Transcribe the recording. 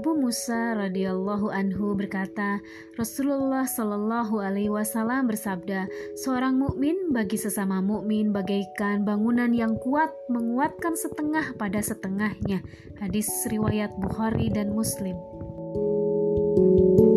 Abu Musa radhiyallahu anhu berkata, Rasulullah shallallahu alaihi wasallam bersabda, seorang mukmin bagi sesama mukmin bagaikan bangunan yang kuat menguatkan setengah pada setengahnya. Hadis riwayat Bukhari dan Muslim.